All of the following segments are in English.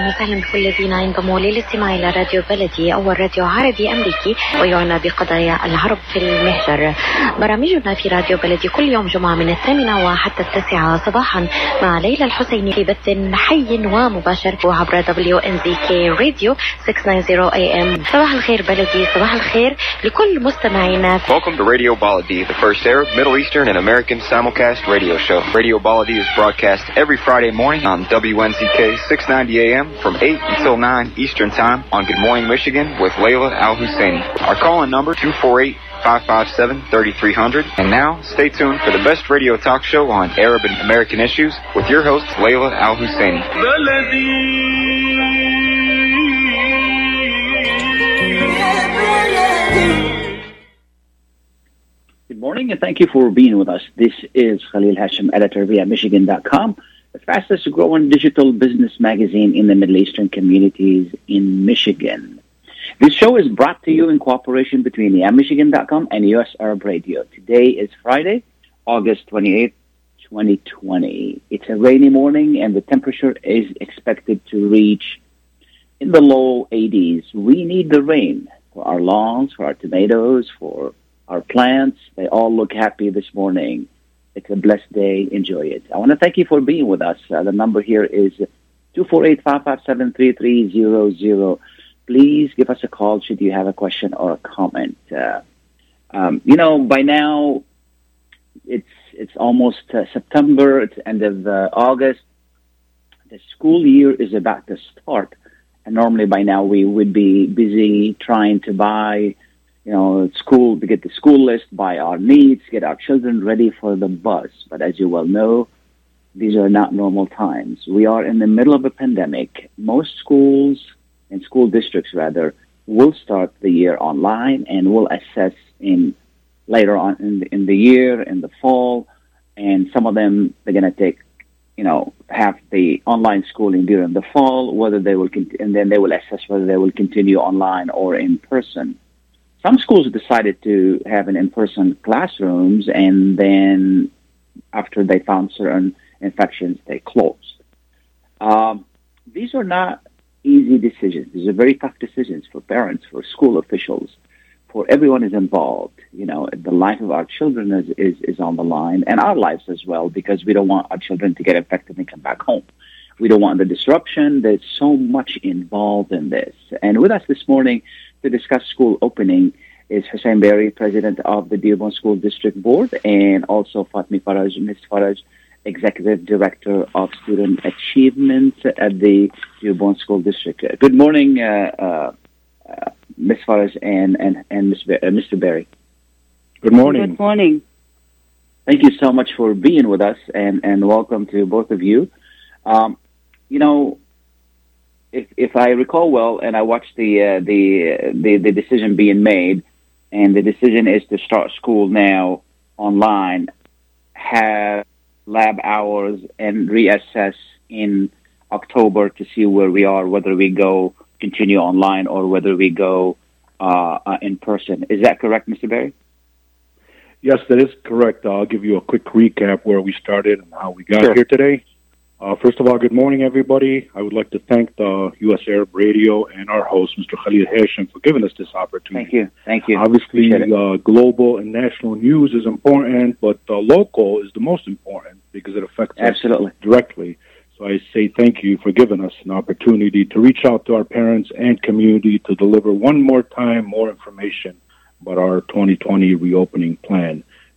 وسهلا بكل الذين انضموا للاستماع إلى راديو بلدي، أول راديو عربي أمريكي ويعنى بقضايا العرب في المهجر. برامجنا في راديو بلدي كل يوم جمعة من 8 وحتى 9 صباحا مع ليلى الحسيني في بث حي ومباشر وعبر WNZK راديو 690 AM. صباح الخير بلدي، صباح الخير لكل مستمعينا. Welcome to Radio Baladi, the first Arab, Middle Eastern, and American simulcast radio show. Radio Baladi is broadcast every Friday morning on WNZK 690 AM from 8 until 9 Eastern Time on Good Morning Michigan with Layla Al-Husseini. Our call-in number 248-557-3300. And now, stay tuned for the best radio talk show on Arab and American issues with your host, Layla Al-Husseini. Good morning, and thank you for being with us. This is Khalil Hashim, editor via Michigan.com, the fastest growing digital business magazine in the Middle Eastern communities in Michigan. This show is brought to you in cooperation between Michigan.com and US Arab Radio. Today is Friday, August 28th, 2020. It's a rainy morning, and the temperature is expected to reach in the low 80s. We need the rain for our lawns, for our tomatoes, for our plants. They all look happy this morning. It's a blessed day. Enjoy it. I want to thank you for being with us. The number here is 248-557-3300. Please give us a call should you have a question or a comment. By now, it's almost September. It's end of August. The school year is about to start. And normally by now we would be busy trying to buy school, to get the school list, buy our needs, get our children ready for the bus. But as you well know, these are not normal times. We are in the middle of a pandemic. Most schools and school districts, rather, will start the year online and will assess later on in the year, in the fall. And some of them, they're going to take, have the online schooling during the fall, whether they will, and then they will assess whether they will continue online or in person. Some schools decided to have an in-person classrooms, and then after they found certain infections, they closed. These are not easy decisions. These are very tough decisions for parents, for school officials, for everyone is involved. The life of our children is on the line, and our lives as well, because we don't want our children to get infected and come back home. We don't want the disruption. There's so much involved in this. And with us this morning to discuss school opening is Hussein Berry, president of the Dearborn School District Board, and also Fatmi Faraj, Ms. Faraj, executive director of student achievement at the Dearborn School District. Good morning, Ms. Faraj and Mr. Berry. Good morning. Good morning. Thank you so much for being with us, and welcome to both of you. If I recall well, and I watched the decision being made, and the decision is to start school now online, have lab hours, and reassess in October to see where we are, whether we continue online or whether we go in person. Is that correct, Mr. Berry? Yes, that is correct. I'll give you a quick recap where we started and how we got here today. First of all, good morning, everybody. I would like to thank the U.S. Arab Radio and our host, Mr. Khalil Hashim, for giving us this opportunity. Thank you. Obviously, global and national news is important, but local is the most important because it affects us directly. So I say thank you for giving us an opportunity to reach out to our parents and community to deliver one more time more information about our 2020 reopening plan.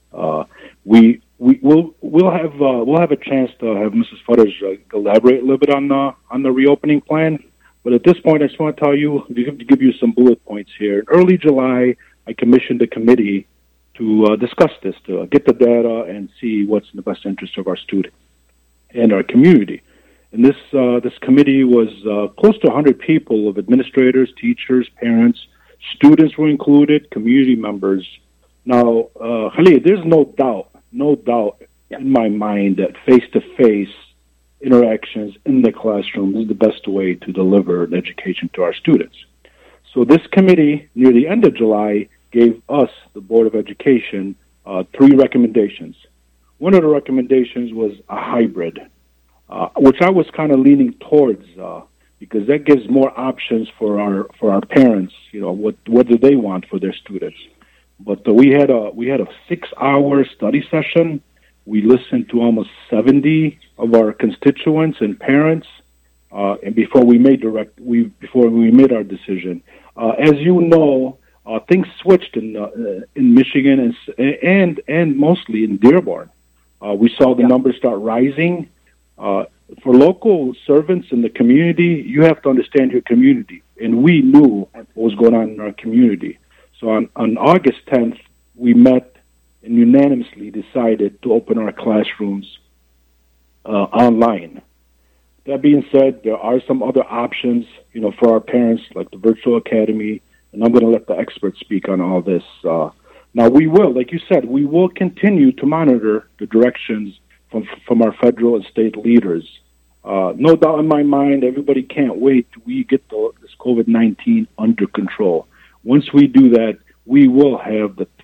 We'll have a chance to have Mrs. Faraj elaborate a little bit on the reopening plan. But at this point, I just want to tell you, to give you some bullet points here. In early July, I commissioned a committee to discuss this, to get the data and see what's in the best interest of our students and our community. And this committee was close to 100 people of administrators, teachers, parents, students were included, community members. Now, Khalid, there's no doubt in my mind that face-to-face interactions in the classroom is the best way to deliver an education to our students. So this committee, near the end of July, gave us, the Board of Education, 3 recommendations. One of the recommendations was a hybrid, which I was kind of leaning towards because that gives more options for our parents. What do they want for their students? But we had a 6-hour study session. We listened to almost 70 of our constituents and parents, and before we made our decision. As you know, things switched in Michigan and mostly in Dearborn. We saw the numbers start rising. For local servants in the community, you have to understand your community, and we knew what was going on in our community. So on August 10th, we met and unanimously decided to open our classrooms online. That being said, there are some other options, for our parents, like the virtual academy, and I'm going to let the experts speak on all this. Now, we will, like you said, we will continue to monitor the directions from our federal and state leaders. No doubt in my mind, everybody can't wait till we get this COVID-19 under control. Once we do that, we will have the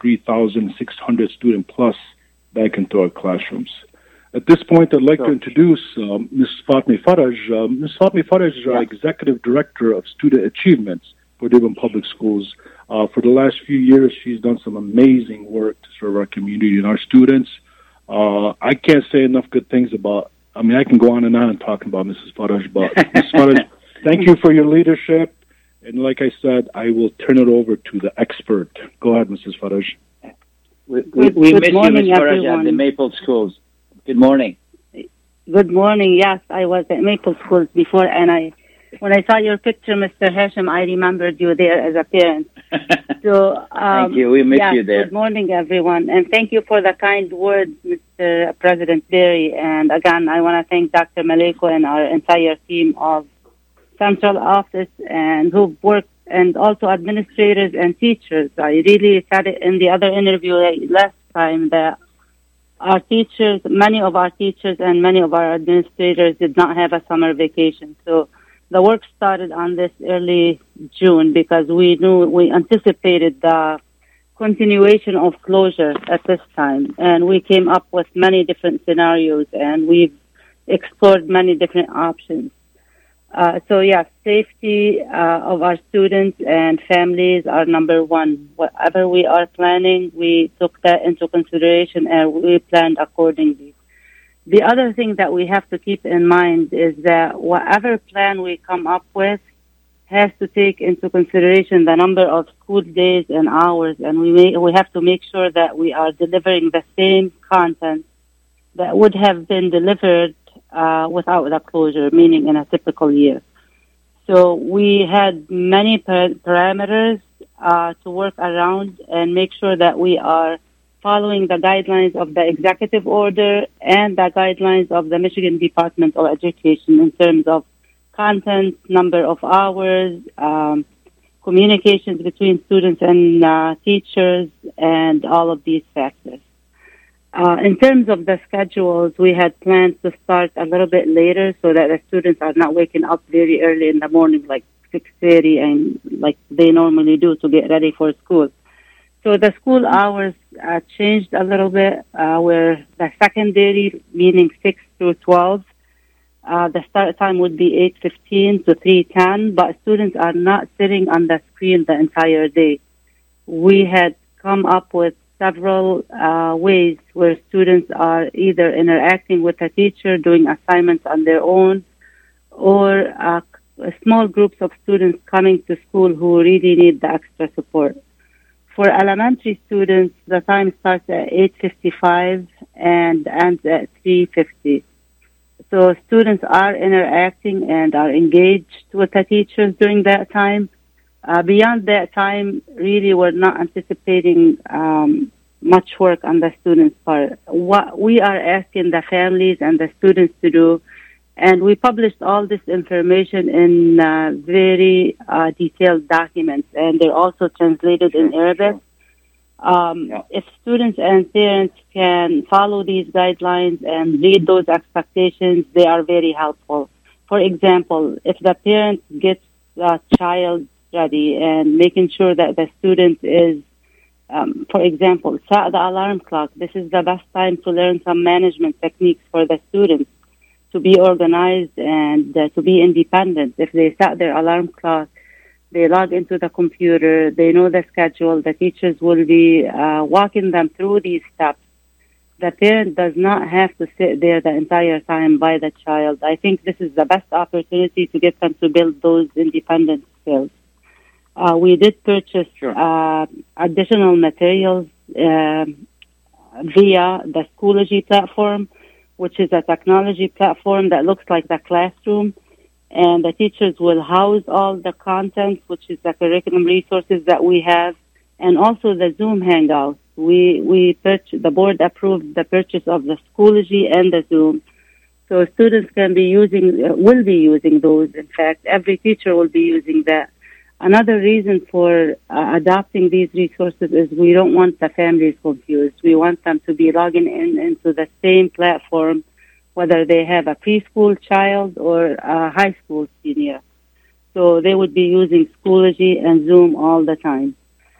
23,600 student plus back into our classrooms. At this point, I'd like to introduce Ms. Fatma Faraj. Ms. Fatma Faraj is our Executive Director of Student Achievements for Dearborn Public Schools. For the last few years, she's done some amazing work to serve our community and our students. I can't say enough good things I can go on and on talking about Mrs. Faraj, but Ms. Faraj, thank you for your leadership. And like I said, I will turn it over to the expert. Go ahead, Mrs. Faraj. We miss you, Ms. Faraj, at the Maple Schools. Good morning. Good morning. Yes, I was at Maple Schools before, and when I saw your picture, Mr. Hashim, I remembered you there as a parent. So, thank you. We miss you there. Good morning, everyone, and thank you for the kind words, Mr. President Berry. And again, I want to thank Dr. Maleko and our entire team of Central Office and who worked, and also administrators and teachers. I really said it in the other interview last time that many of our teachers and many of our administrators did not have a summer vacation. So the work started on this early June because we anticipated the continuation of closure at this time. And we came up with many different scenarios, and we've explored many different options. Safety of our students and families are number one. Whatever we are planning, we took that into consideration and we planned accordingly. The other thing that we have to keep in mind is that whatever plan we come up with has to take into consideration the number of school days and hours, and we have to make sure that we are delivering the same content that would have been delivered without the closure, meaning in a typical year. So we had many parameters to work around and make sure that we are following the guidelines of the executive order and the guidelines of the Michigan Department of Education in terms of content, number of hours, communications between students and teachers, and all of these factors. In terms of the schedules, we had planned to start a little bit later so that the students are not waking up very early in the morning, like 6:30, and like they normally do to get ready for school. So the school hours changed a little bit, where the secondary, meaning 6 through 12, the start time would be 8:15 to 3:10, but students are not sitting on the screen the entire day. We had come up with several ways where students are either interacting with a teacher, doing assignments on their own, or small groups of students coming to school who really need the extra support. For elementary students, the time starts at 8:55 and ends at 3:50. So students are interacting and are engaged with the teachers during that time. Beyond that time, really, we're not anticipating much work on the students' part. What we are asking the families and the students to do, and we published all this information in very detailed documents, and they're also translated in Arabic. If students and parents can follow these guidelines and read those expectations, they are very helpful. For example, if the parent gets the child ready and making sure that the student is, for example, set the alarm clock. This is the best time to learn some management techniques for the students. to be organized and to be independent. If they set their alarm clock, they log into the computer, they know the schedule, the teachers will be walking them through these steps. The parent does not have to sit there the entire time by the child. I think this is the best opportunity to get them to build those independent skills. We did purchase additional materials via the Schoology platform, which is a technology platform that looks like the classroom. And the teachers will house all the content, which is the curriculum resources that we have, and also the Zoom Hangouts. The board approved the purchase of the Schoology and the Zoom. So students will be using those. In fact, every teacher will be using that. Another reason for adopting these resources is we don't want the families confused. We want them to be logging into the same platform, whether they have a preschool child or a high school senior. So they would be using Schoology and Zoom all the time.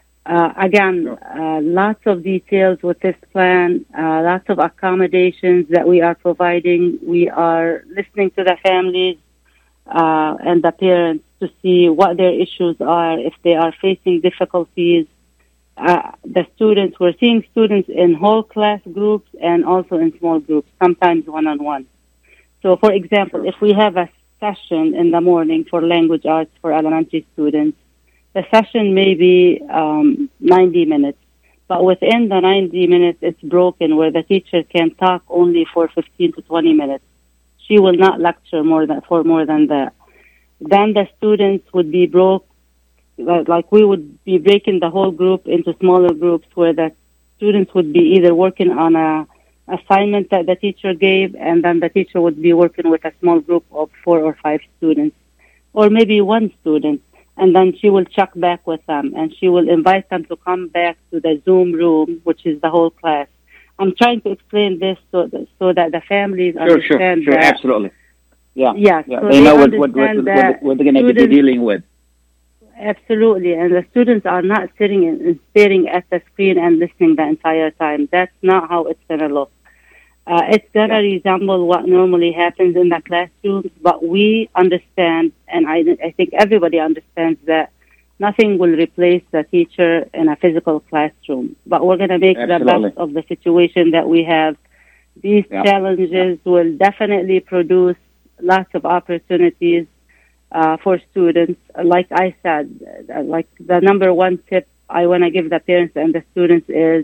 Lots of details with this plan, lots of accommodations that we are providing. We are listening to the families and the parents to see what their issues are, if they are facing difficulties. We're seeing students in whole class groups and also in small groups, sometimes one-on-one. So, for example, if we have a session in the morning for language arts for elementary students, the session may be 90 minutes, but within the 90 minutes, it's broken where the teacher can talk only for 15 to 20 minutes. She will not lecture for more than that. Then the students would be like we would be breaking the whole group into smaller groups where the students would be either working on a assignment that the teacher gave, and then the teacher would be working with a small group of 4 or 5 students, or maybe one student. And then she will check back with them, and she will invite them to come back to the Zoom room, which is the whole class. I'm trying to explain this so that the families understand Sure, that. Absolutely. Yeah. So they know what they're going to be dealing with. Absolutely, and the students are not sitting and staring at the screen and listening the entire time. That's not how it's going to look. It's going to resemble what normally happens in the classrooms, but we understand, and I think everybody understands that nothing will replace the teacher in a physical classroom. But we're going to make the best of the situation that we have. These challenges will definitely produce lots of opportunities for students. Like I said, like the number one tip I want to give the parents and the students is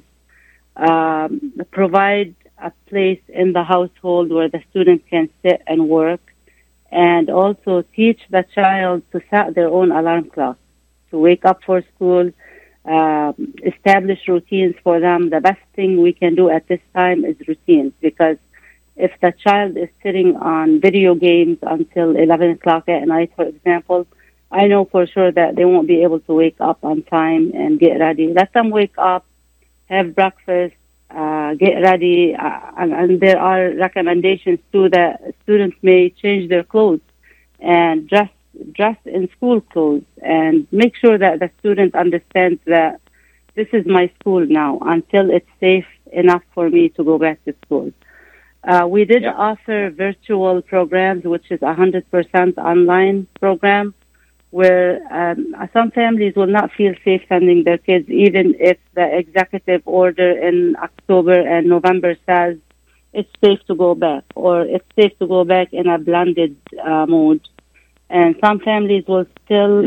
provide a place in the household where the student can sit and work, and also teach the child to set their own alarm clock, to wake up for school, establish routines for them. The best thing we can do at this time is routines, because if the child is sitting on video games until 11 o'clock at night, for example, I know for sure that they won't be able to wake up on time and get ready. Let them wake up, have breakfast, get ready, and there are recommendations too that students may change their clothes and dress in school clothes, and make sure that the student understands that this is my school now until it's safe enough for me to go back to school. We did offer virtual programs, which is 100% online program, where some families will not feel safe sending their kids, even if the executive order in October and November says it's safe to go back, or it's safe to go back in a blended mode. And some families will still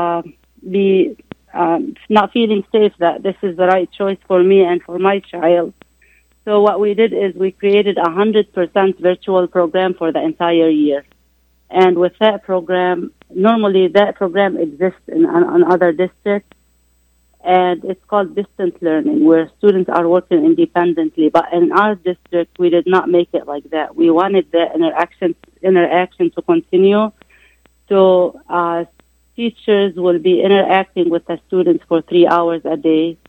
be not feeling safe that this is the right choice for me and for my child. So what we did is we created 100% virtual program for the entire year. And with that program, normally that program exists in other districts, and it's called distance learning, where students are working independently. But in our district, we did not make it like that. We wanted the interaction to continue. So teachers will be interacting with the students for 3 hours a day,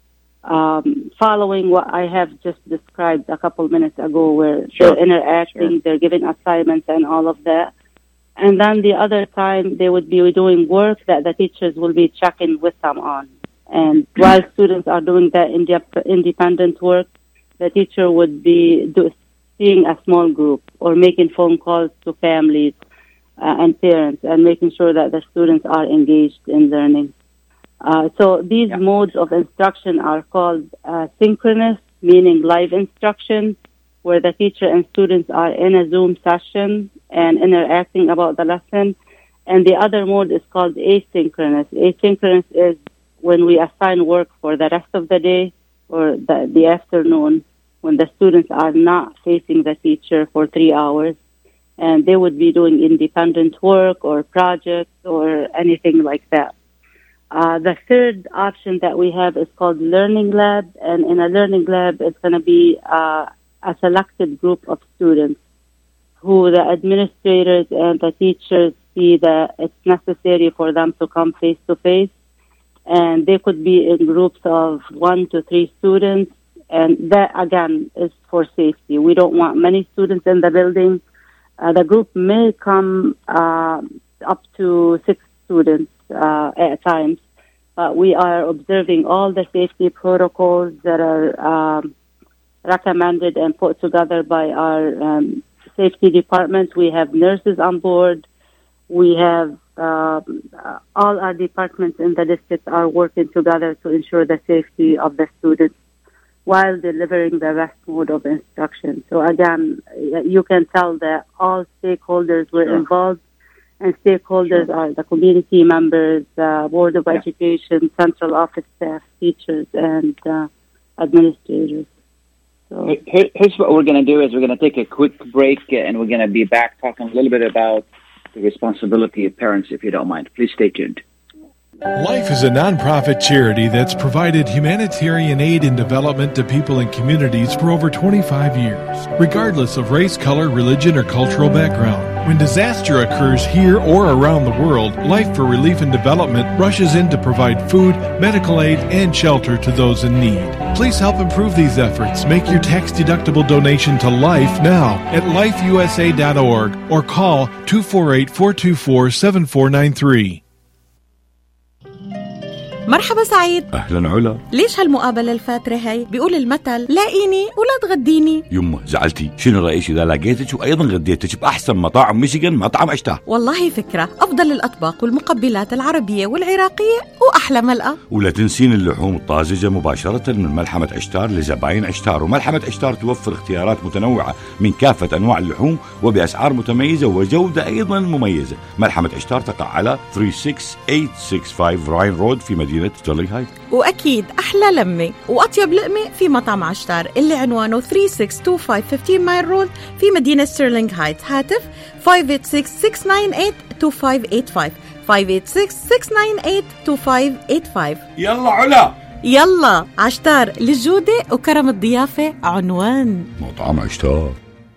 following what I have just described a couple minutes ago, where they're interacting, they're giving assignments and all of that. And then the other time, they would be doing work that the teachers will be checking with them on. And while students are doing that independent work, the teacher would be seeing a small group or making phone calls to families and parents and making sure that the students are engaged in learning. So these modes of instruction are called synchronous, meaning live instruction, where the teacher and students are in a Zoom session and interacting about the lesson. And the other mode is called asynchronous. Asynchronous is when we assign work for the rest of the day or the afternoon, when the students are not facing the teacher for 3 hours, and they would be doing independent work or projects or anything like that. The third option that we have is called Learning Lab, and in a Learning Lab, it's going to be a selected group of students who the administrators and the teachers see that it's necessary for them to come face-to-face, and they could be in groups of 1 to 3 students, and that, again, is for safety. We don't want many students in the building. The group may come up to 6 students at times, but we are observing all the safety protocols that are recommended and put together by our safety department. We have nurses on board. We have all our departments in the district are working together to ensure the safety of the students while delivering the best mode of instruction. So again, you can tell that all stakeholders were involved, and stakeholders are the community members, Board of Education, central office staff, teachers, and administrators. So here's what we're going to do is we're going to take a quick break, and we're going to be back talking a little bit about the responsibility of parents, if you don't mind. Please stay tuned. Life is a nonprofit charity that's provided humanitarian aid and development to people and communities for over 25 years, regardless of race, color, religion, or cultural background. When disaster occurs here or around the world, Life for Relief and Development rushes in to provide food, medical aid, and shelter to those in need. Please help improve these efforts. Make your tax-deductible donation to Life now at lifeusa.org or call 248-424-7493. مرحبا سعيد. أهلا علا. ليش هالمقابلة الفاترة هاي؟ بيقول المثل لاقيني ولا تغديني. يمه زعلتي، شنو رأيك إذا لقيتك وأيضا غديتك بأحسن مطاعم ميشيغان، مطعم عشتار؟ والله فكرة، أفضل الأطباق والمقبلات العربية والعراقية وأحلى ملقا. ولا تنسين اللحوم الطازجة مباشرة من ملحمة عشتار لزباين عشتار. وملحمة عشتار توفر اختيارات متنوعة من كافة أنواع اللحوم وبأسعار متميزة وجودة أيضا مميزة. ملحمة عشتار تقع على 36865 راين رود في مدينة ستيرلينغ هايت. وأكيد أحلى لمة وأطيب لقمة في مطعم عشتار اللي عنوانه 3625 15 مايل رود في مدينة ستيرلينغ هايت. هاتف 586-698-2585 586-698-2585. يلا علا، يلا عشتار، للجودة وكرم الضيافة عنوان مطعم عشتار.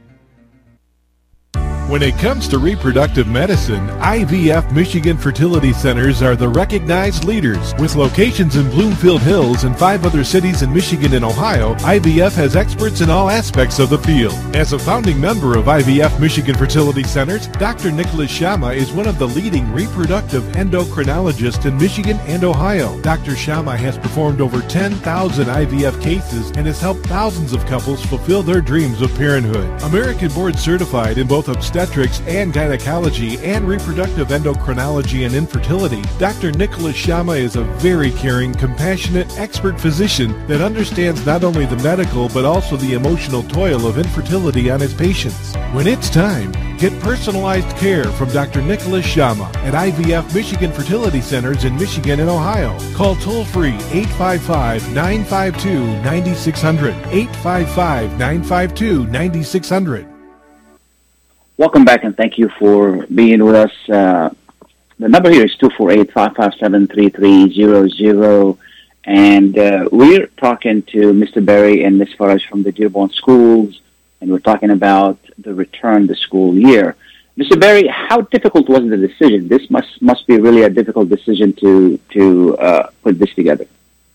When it comes to reproductive medicine, IVF Michigan Fertility Centers are the recognized leaders. With locations in Bloomfield Hills and 5 other cities in Michigan and Ohio, IVF has experts in all aspects of the field. As a founding member of IVF Michigan Fertility Centers, Dr. Nicholas Shama is one of the leading reproductive endocrinologists in Michigan and Ohio. Dr. Shama has performed over 10,000 IVF cases and has helped thousands of couples fulfill their dreams of parenthood. American board certified in both obstetrics and gynecology and reproductive endocrinology and infertility, Dr. Nicholas Shama is a very caring, compassionate, expert physician that understands not only the medical but also the emotional toil of infertility on his patients. When it's time, get personalized care from Dr. Nicholas Shama at IVF Michigan Fertility Centers in Michigan and Ohio. Call toll-free 855-952-9600, 855-952-9600. Welcome back, and thank you for being with us. The number here is 248-557-3300, and we're talking to Mr. Berry and Ms. Faraj from the Dearborn Schools, and we're talking about the return to school year. Mr. Berry, how difficult was the decision? This must be really a difficult decision to put this together.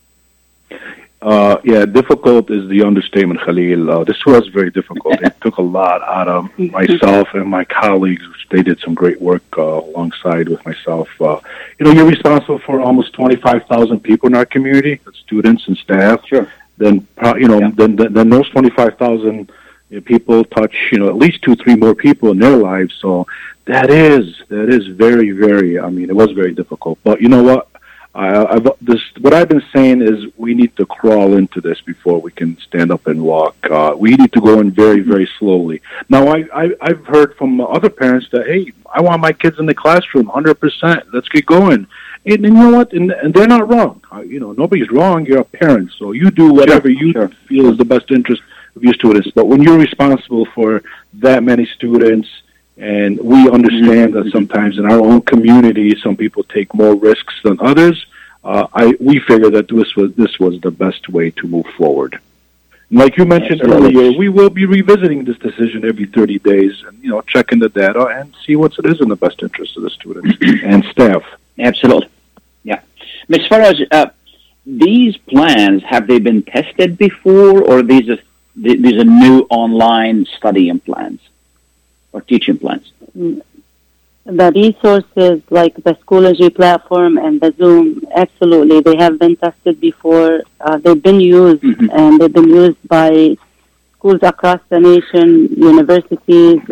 Yeah, difficult is the understatement, Khalil. This was very difficult. It took a lot out of myself and my colleagues. They did some great work alongside with myself. You're responsible for almost 25,000 people in our community, students and staff. Sure. Then, then those 25,000 People touch, at least 2-3 more people in their lives. So that is very, very. I mean, it was very difficult. But you know what? What I've been saying is we need to crawl into this before we can stand up and walk. We need to go in very, very slowly. Now, I've heard from other parents that, hey, I want my kids in the classroom 100%. Let's get going. And you know what? And they're not wrong. Nobody's wrong. You're a parent, so you do whatever you feel is the best interest of your students. But when you're responsible for that many students, and we understand that sometimes in our own community, some people take more risks than others. We figured that this was the best way to move forward. And like you mentioned earlier, we will be revisiting this decision every 30 days, and checking the data and see what it is in the best interest of the students and staff. Absolutely, yeah. Ms. Faraj, these plans, have they been tested before, or these are new online studying plans or teaching plans? The resources like the Schoology platform and the Zoom, absolutely, they have been tested before. They've been used, and they've been used by schools across the nation, universities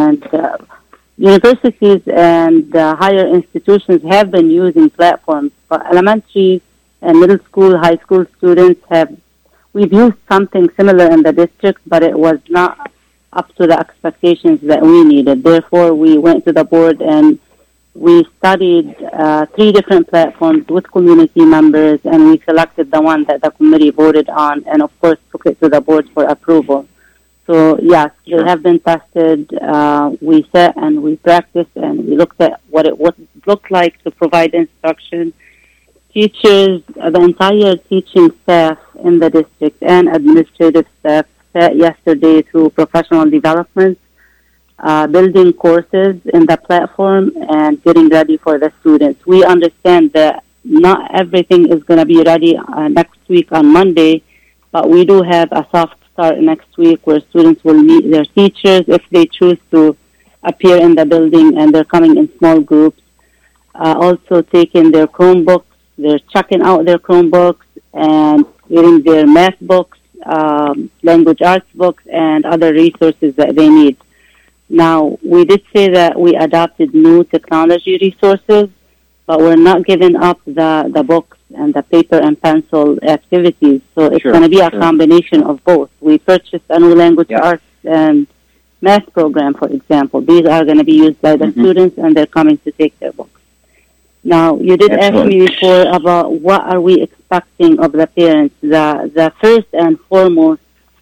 and higher institutions have been using platforms. But elementary and middle school, high school students we've used something similar in the district, but it was not up to the expectations that we needed. Therefore, we went to the board and we studied 3 different platforms with community members, and we selected the one that the committee voted on, and of course took it to the board for approval. So yes, they have been tested. We sat and we practiced and we looked at what it would look like to provide instruction. Teachers, the entire teaching staff in the district and administrative staff sat yesterday through professional development, building courses in the platform and getting ready for the students. We understand that not everything is going to be ready next week on Monday, but we do have a soft start next week where students will meet their teachers if they choose to appear in the building, and they're coming in small groups. Also taking their Chromebooks, they're checking out their Chromebooks and getting their math books, language arts books, and other resources that they need. Now, we did say that we adopted new technology resources, but we're not giving up the books and the paper and pencil activities. So it's going to be a combination of both. We purchased a new language arts and math program, for example. These are going to be used by the students, and they're coming to take their books. Now, you did ask me before about what are we expecting of the parents. The first and foremost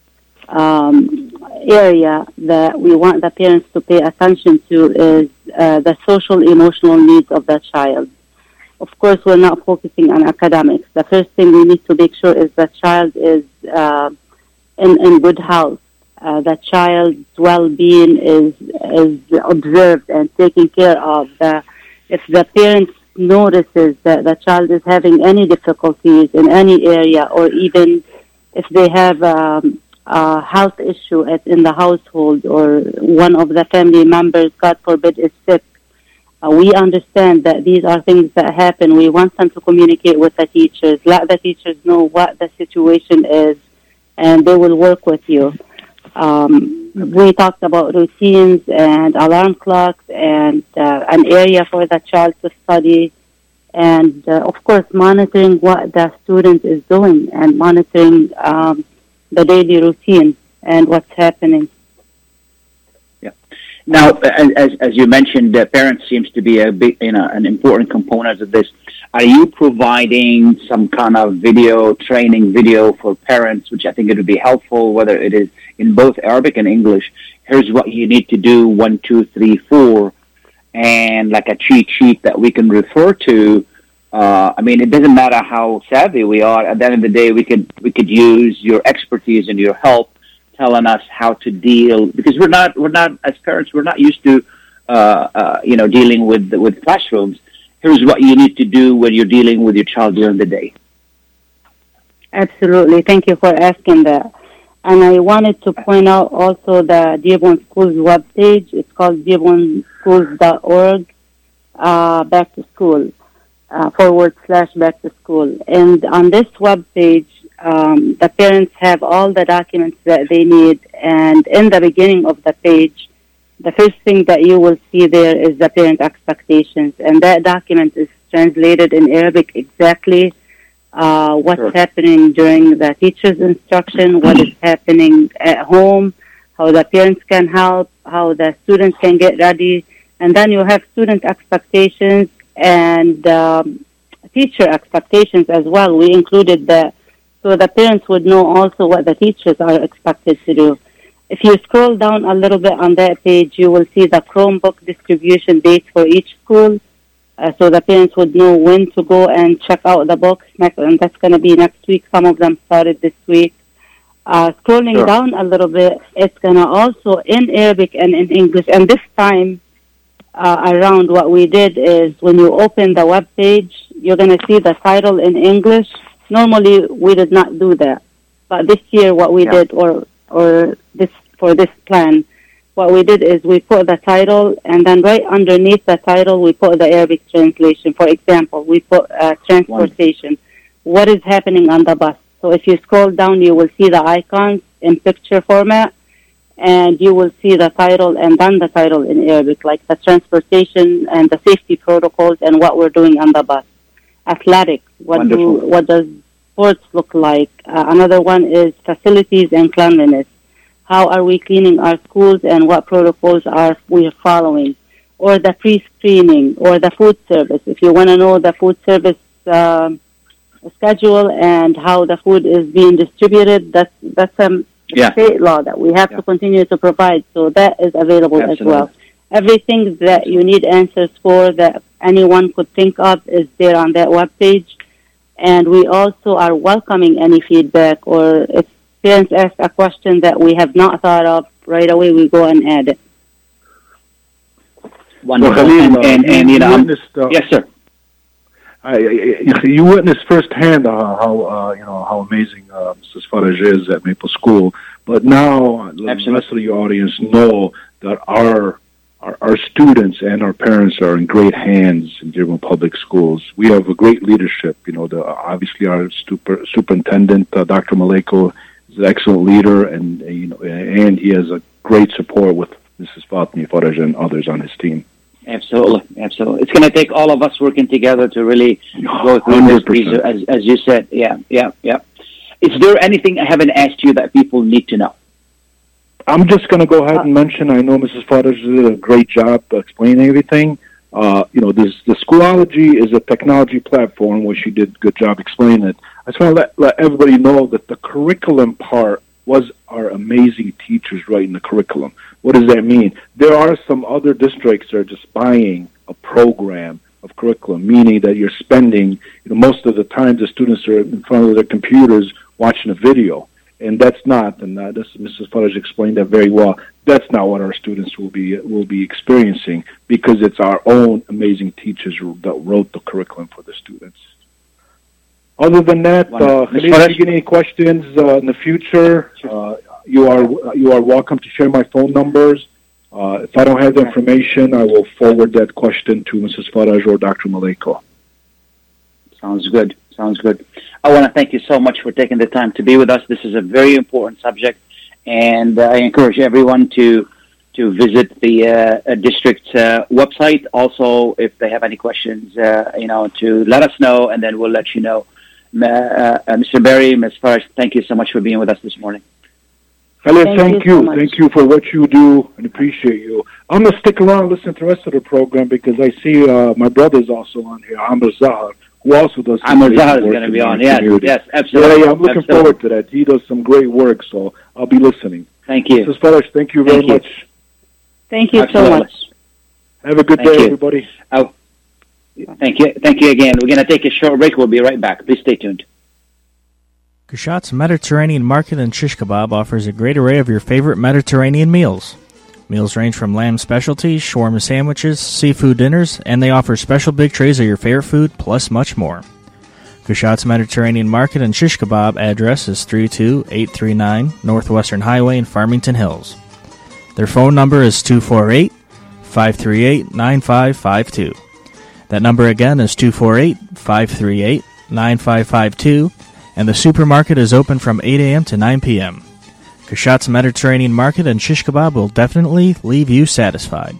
area that we want the parents to pay attention to is the social emotional needs of the child. Of course, we're not focusing on academics. The first thing we need to make sure is the child is in good health. The child's well-being is observed and taken care of. If the parents notices that the child is having any difficulties in any area, or even if they have a health issue in the household, or one of the family members, God forbid, is sick, we understand that these are things that happen. We want them to communicate with the teachers, let the teachers know what the situation is, and they will work with you. We talked about routines and alarm clocks and an area for the child to study, and of course monitoring what the student is doing and monitoring the daily routine and what's happening. Yeah. Now, as you mentioned, parents seems to be a big, an important component of this. Are you providing some kind of training video for parents, which I think it would be helpful, whether it is in both Arabic and English? Here's what you need to do, 1, 2, 3, 4, and like a cheat sheet that we can refer to. It doesn't matter how savvy we are. At the end of the day, we could use your expertise and your help, telling us how to deal, because we're not as parents, we're not used to dealing with classrooms. Here's what you need to do when you're dealing with your child during the day. Absolutely. Thank you for asking that. And I wanted to point out also the Dearborn Schools webpage. It's called dearbornschools.org, back to school, /back to school. And on this webpage, the parents have all the documents that they need. And in the beginning of the page, the first thing that you will see there is the parent expectations. And that document is translated in Arabic exactly what's happening during the teacher's instruction, what is happening at home, how the parents can help, how the students can get ready. And then you have student expectations and teacher expectations as well. We included that so the parents would know also what the teachers are expected to do. If you scroll down a little bit on that page, you will see the Chromebook distribution dates for each school. So the parents would know when to go and check out the books, and that's going to be next week. Some of them started this week. Scrolling down a little bit, it's going to also in Arabic and in English. And this time around, what we did is when you open the web page, you're going to see the title in English. Normally, we did not do that. But this year, what we did, or this for this plan, what we did is we put the title, and then right underneath the title, we put the Arabic translation. For example, we put transportation. What is happening on the bus? So if you scroll down, you will see the icons in picture format, and you will see the title and then the title in Arabic, like the transportation and the safety protocols and what we're doing on the bus. Athletics, what does sports look like? Another one is facilities and cleanliness. How are we cleaning our schools and what protocols are we following? Or the pre-screening or the food service. If you want to know the food service schedule and how the food is being distributed, that's a state law that we have to continue to provide. So that is available as well. Everything that you need answers for that anyone could think of is there on that webpage. And we also are welcoming any feedback, or if parents ask a question that we have not thought of, right away we go and add it. Wonderful. Well, and you know, yes, sir. You witnessed firsthand how amazing Mrs. Faraj is at Maple School. But now the rest of your audience know that our students and our parents are in great hands in Dearborn Public Schools. We have a great leadership. You know, obviously our superintendent, Dr. Maleko, is an excellent leader, and and he has a great support with Mrs. Fatmi Faraj and others on his team. Absolutely. It's going to take all of us working together to really go through this, as you said. Yeah. Is there anything I haven't asked you that people need to know? I'm just going to go ahead and mention, I know Mrs. Faraj did a great job explaining everything. The Schoology is a technology platform where she did a good job explaining it. I just want to let everybody know that the curriculum part was our amazing teachers writing the curriculum. What does that mean? There are some other districts that are just buying a program of curriculum, meaning that you're spending, most of the time the students are in front of their computers watching a video. And that's not, and Mrs. Faraj explained that very well. That's not what our students will be experiencing, because it's our own amazing teachers that wrote the curriculum for the students. Other than that, if you get any questions in the future, you are welcome to share my phone numbers. If I don't have the information, I will forward that question to Mrs. Faraj or Dr. Maleko. Sounds good. I want to thank you so much for taking the time to be with us. This is a very important subject, and I encourage everyone to visit the district website. Also, if they have any questions, to let us know, and then we'll let you know. Mr. Berry, Ms. Faraj, thank you so much for being with us this morning. Khalid, thank you. Thank you for what you do, and appreciate you. I'm going to stick around and listen to the rest of the program, because I see my brother's also on here, Amr Zahar, who also does some great work. Is going to be on, yes, absolutely. Yeah, I'm looking forward to that. He does some great work, so I'll be listening. Thank you. Mrs. Faraj, thank you very much. Thank you so much. Have a good day, everybody. Thank you again. We're going to take a short break. We'll be right back. Please stay tuned. Kushat's Mediterranean Market in Shish Kebab offers a great array of your favorite Mediterranean meals. Meals range from lamb specialties, shawarma sandwiches, seafood dinners, and they offer special big trays of your favorite food, plus much more. Kushat's Mediterranean Market and Shish Kebab address is 32839 Northwestern Highway in Farmington Hills. Their phone number is 248-538-9552. That number again is 248-538-9552, and the supermarket is open from 8 a.m. to 9 p.m. Kashat's Mediterranean Market and shish kebab will definitely leave you satisfied.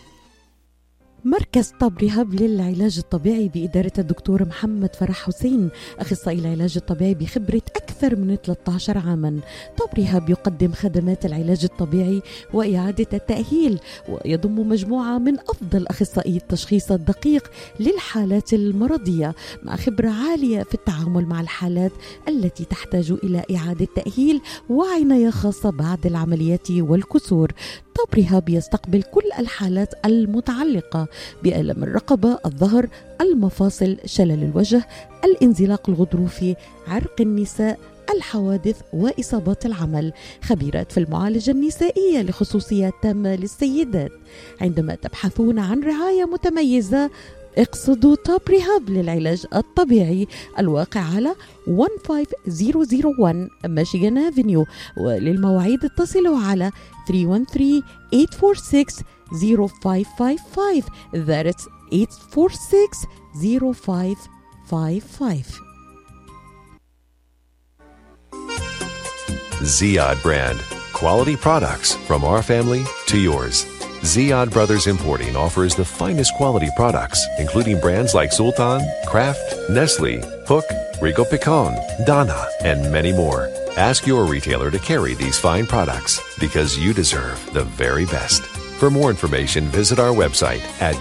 مركز طب ريهاب للعلاج الطبيعي بإدارة الدكتور محمد فرح حسين، أخصائي العلاج الطبيعي بخبرة أكثر من 13 عاما. طب ريهاب يقدم خدمات العلاج الطبيعي وإعادة التأهيل، ويضم مجموعة من أفضل أخصائي التشخيص الدقيق للحالات المرضية، مع خبرة عالية في التعامل مع الحالات التي تحتاج إلى إعادة تأهيل وعناية خاصة بعد العمليات والكسور. طب ريهاب يستقبل كل الحالات المتعلقة بألم الرقبة، الظهر، المفاصل، شلل الوجه، الانزلاق الغضروفي، عرق النساء، الحوادث وإصابات العمل. خبيرات في المعالجة النسائية لخصوصيات تامة للسيدات. عندما تبحثون عن رعاية متميزة اقصدوا توب ريهاب للعلاج الطبيعي، الواقع على 15001 ميشيغان افنيو، وللمواعيد اتصلوا على 313-846-0555. That's 846-0555. Ziyad brand. Quality products from our family to yours. Ziyad Brothers Importing offers the finest quality products, including brands like Sultan, Kraft, Nestle, Hook, Rico Picon, Dana, and many more. Ask your retailer to carry these fine products because you deserve the very best. For more information, visit our website at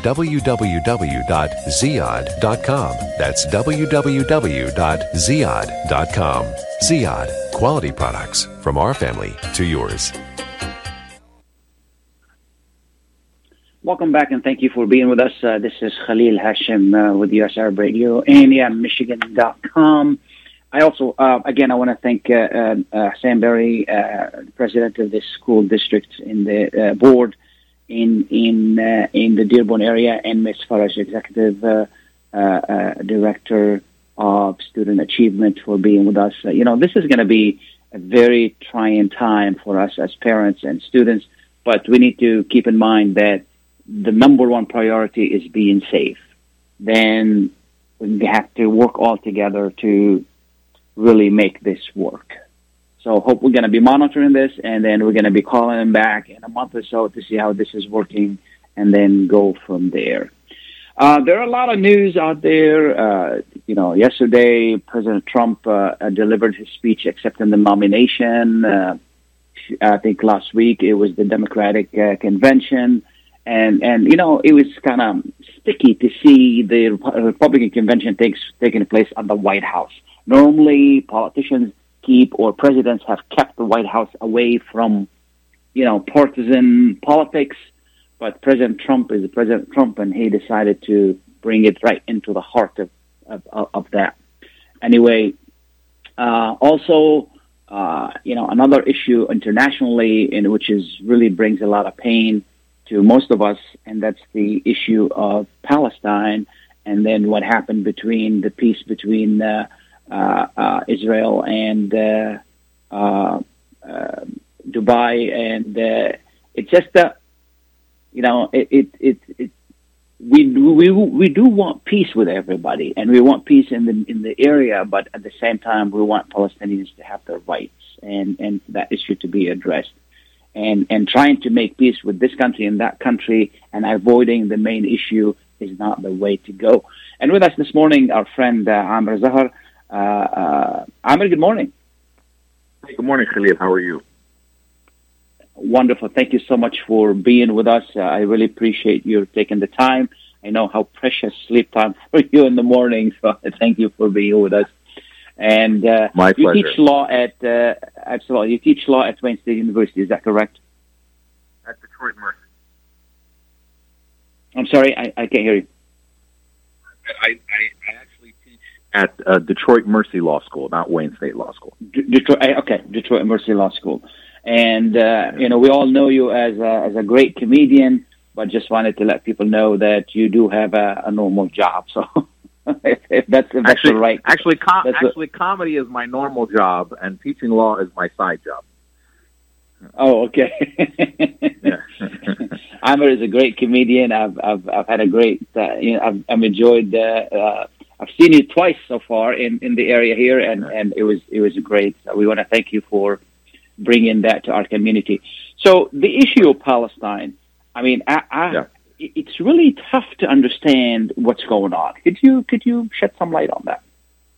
www.ziyad.com. That's www.ziyad.com. Ziyad, quality products from our family to yours. Welcome back, and thank you for being with us. This is Khalil Hashim with US Arab Radio and Michigan.com. I also, again, I want to thank Sam Berry, president of the school district in the board in the Dearborn area, and Ms. Faraj, executive director of student achievement, for being with us. This is going to be a very trying time for us as parents and students, but we need to keep in mind that the number one priority is being safe. Then we have to work all together to really make this work. So hope we're going to be monitoring this, and then we're going to be calling them back in a month or so to see how this is working, and then go from there. There are a lot of news out there. Yesterday, President Trump delivered his speech accepting the nomination. I think last week it was the Democratic convention. And it was kind of sticky to see the Republican convention taking place at the White House. Normally, politicians presidents have kept the White House away from, partisan politics. But President Trump is President Trump, and he decided to bring it right into the heart of that. Anyway, another issue internationally, which really brings a lot of pain to most of us, and that's the issue of Palestine, and then what happened between the peace between Israel and Dubai, and it's just that we do want peace with everybody, and we want peace in the area, but at the same time we want Palestinians to have their rights and that issue to be addressed. And trying to make peace with this country and that country and avoiding the main issue is not the way to go. And with us this morning, our friend Amr Zahar. Amr, good morning. Hey, good morning, Khalil. How are you? Wonderful. Thank you so much for being with us. I really appreciate you taking the time. I know how precious sleep time for you in the morning, so thank you for being with us. And my pleasure. You teach law at absolutely. You teach law at Wayne State University. Is that correct? At Detroit Mercy. I'm sorry, I can't hear you. I actually teach at Detroit Mercy Law School, not Wayne State Law School. Detroit Mercy Law School. And we all know you as a great comedian, but just wanted to let people know that you do have a normal job. So. If that's right. Actually, comedy is my normal job, and teaching law is my side job. Oh, okay. Amr is a great comedian. I've had a great. I've enjoyed I've seen you twice so far in the area here, and it was great. So we want to thank you for bringing that to our community. So the issue of Palestine, I mean, it's really tough to understand what's going on. Could you shed some light on that?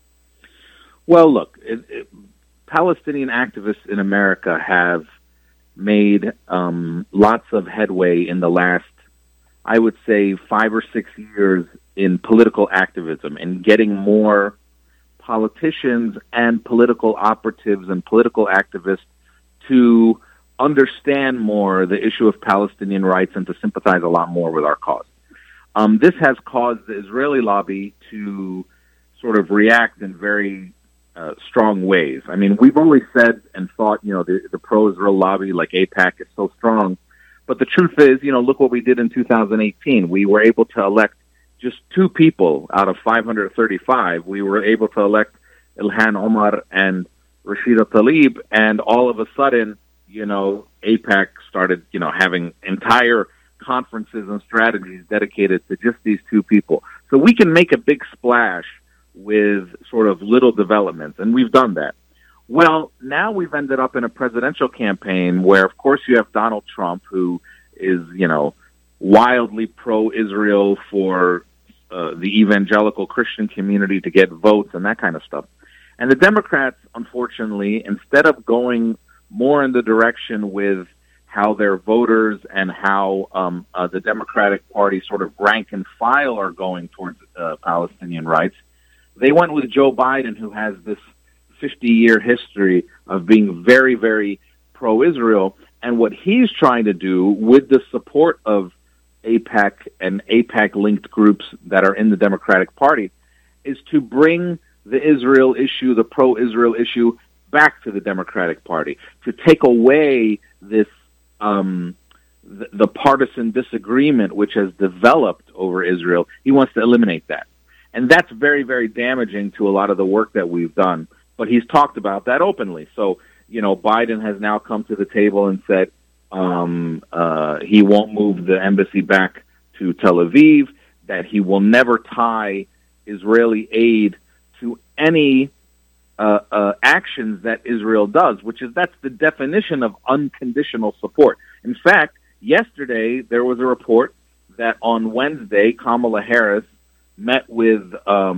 Well, look, Palestinian activists in America have made lots of headway in the last, I would say, 5 or 6 years in political activism and getting more politicians and political operatives and political activists to understand more the issue of Palestinian rights and to sympathize a lot more with our cause. This has caused the Israeli lobby to sort of react in very strong ways. I mean, we've always said and thought, the pro-Israel lobby like AIPAC is so strong. But the truth is, look what we did in 2018. We were able to elect just 2 people out of 535. We were able to elect Ilhan Omar and Rashida Tlaib, and all of a sudden, AIPAC started, having entire conferences and strategies dedicated to just these 2 people. So we can make a big splash with sort of little developments, and we've done that. Well, now we've ended up in a presidential campaign where, of course, you have Donald Trump, who is, wildly pro-Israel for the evangelical Christian community to get votes and that kind of stuff. And the Democrats, unfortunately, instead of going more in the direction with how their voters and how the Democratic Party sort of rank and file are going towards Palestinian rights, they went with Joe Biden, who has this 50-year history of being very, very pro-Israel. And what he's trying to do with the support of AIPAC and AIPAC-linked groups that are in the Democratic Party is to bring the Israel issue, the pro-Israel issue, back to the Democratic Party, to take away this the partisan disagreement which has developed over Israel. He wants to eliminate that. And that's very, very damaging to a lot of the work that we've done. But he's talked about that openly. So, Biden has now come to the table and said he won't move the embassy back to Tel Aviv, that he will never tie Israeli aid to any actions that Israel does, that's the definition of unconditional support. In fact, yesterday there was a report that on Wednesday, Kamala Harris met with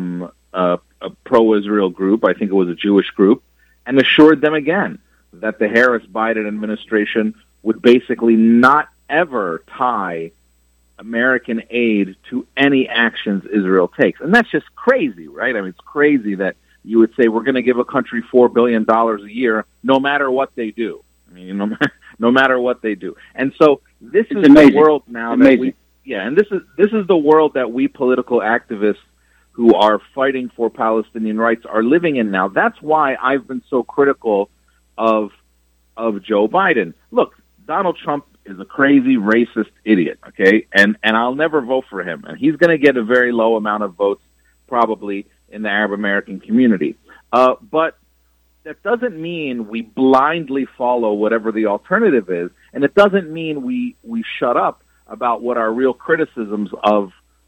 a pro-Israel group, I think it was a Jewish group, and assured them again that the Harris-Biden administration would basically not ever tie American aid to any actions Israel takes. And that's just crazy, right? I mean, it's crazy that you would say we're going to give a country $4 billion a year no matter what they do. I mean, no matter what they do. And so this is the world now that we... Yeah, and this is the world that we political activists who are fighting for Palestinian rights are living in now. That's why I've been so critical of Joe Biden. Look, Donald Trump is a crazy racist idiot, okay? And I'll never vote for him. And he's going to get a very low amount of votes probably in the Arab American community. But that doesn't mean we blindly follow whatever the alternative is, and it doesn't mean we shut up about what our real criticisms of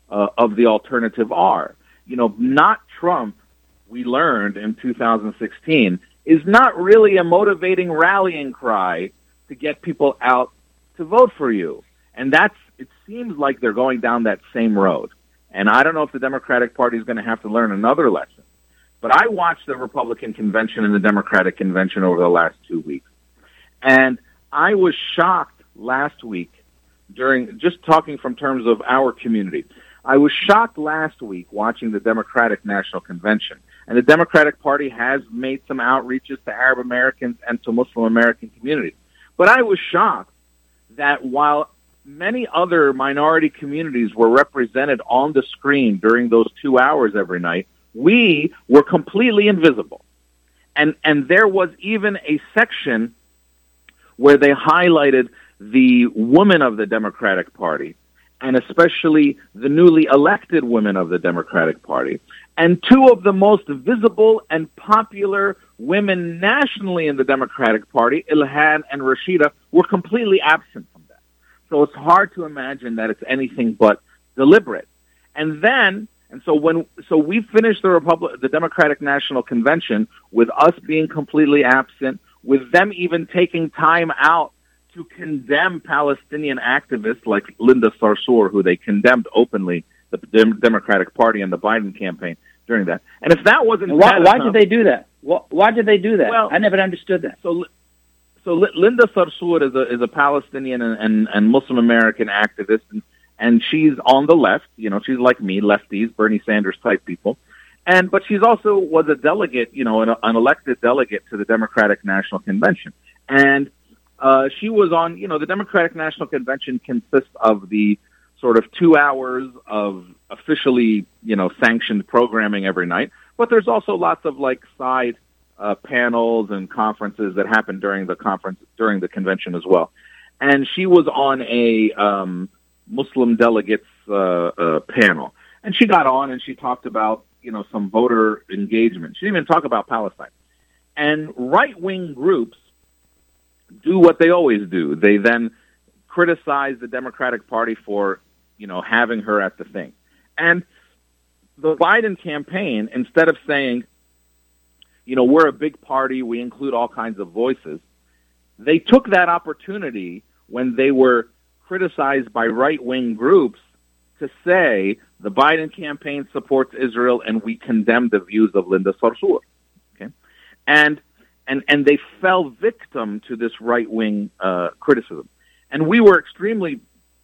the alternative are. Not Trump, we learned in 2016, is not really a motivating rallying cry to get people out to vote for you. And it seems like they're going down that same road. And I don't know if the Democratic Party is going to have to learn another lesson. But I watched the Republican convention and the Democratic convention over the last 2 weeks. And I was shocked last week just talking from terms of our community. I was shocked last week watching the Democratic National Convention. And the Democratic Party has made some outreaches to Arab Americans and to Muslim American communities. But I was shocked that while many other minority communities were represented on the screen during those 2 hours every night, we were completely invisible. And there was even a section where they highlighted the women of the Democratic Party, and especially the newly elected women of the Democratic Party. And 2 of the most visible and popular women nationally in the Democratic Party, Ilhan and Rashida, were completely absent from that. So it's hard to imagine that it's anything but deliberate. And then And so we finished the Democratic National Convention with us being completely absent, with them even taking time out to condemn Palestinian activists like Linda Sarsour, who they condemned openly, the Democratic Party and the Biden campaign during that. And if that wasn't why did they do that? Why did they do that? Well, I never understood that. So Linda Sarsour is a Palestinian and Muslim American activist, and she's on the left. You know, she's like me, lefties, Bernie Sanders type people. But she's also was a delegate, you know, an elected delegate to the Democratic National Convention. And she was on, you know, the Democratic National Convention consists of the sort of 2 hours of officially, you know, sanctioned programming every night. But there's also lots of like side panels and conferences that happen during the convention as well. And she was on a Muslim delegates panel, and she got on and she talked about, you know, some voter engagement. She didn't even talk about Palestine. And right-wing groups do what they always do. They then criticize the Democratic Party for, you know, having her at the thing. And the Biden campaign, instead of saying, you know, we're a big party, we include all kinds of voices, they took that opportunity when they were criticized by right-wing groups to say the Biden campaign supports Israel and we condemn the views of Linda Sarsour. Okay? And they fell victim to this right-wing criticism. And we were extremely,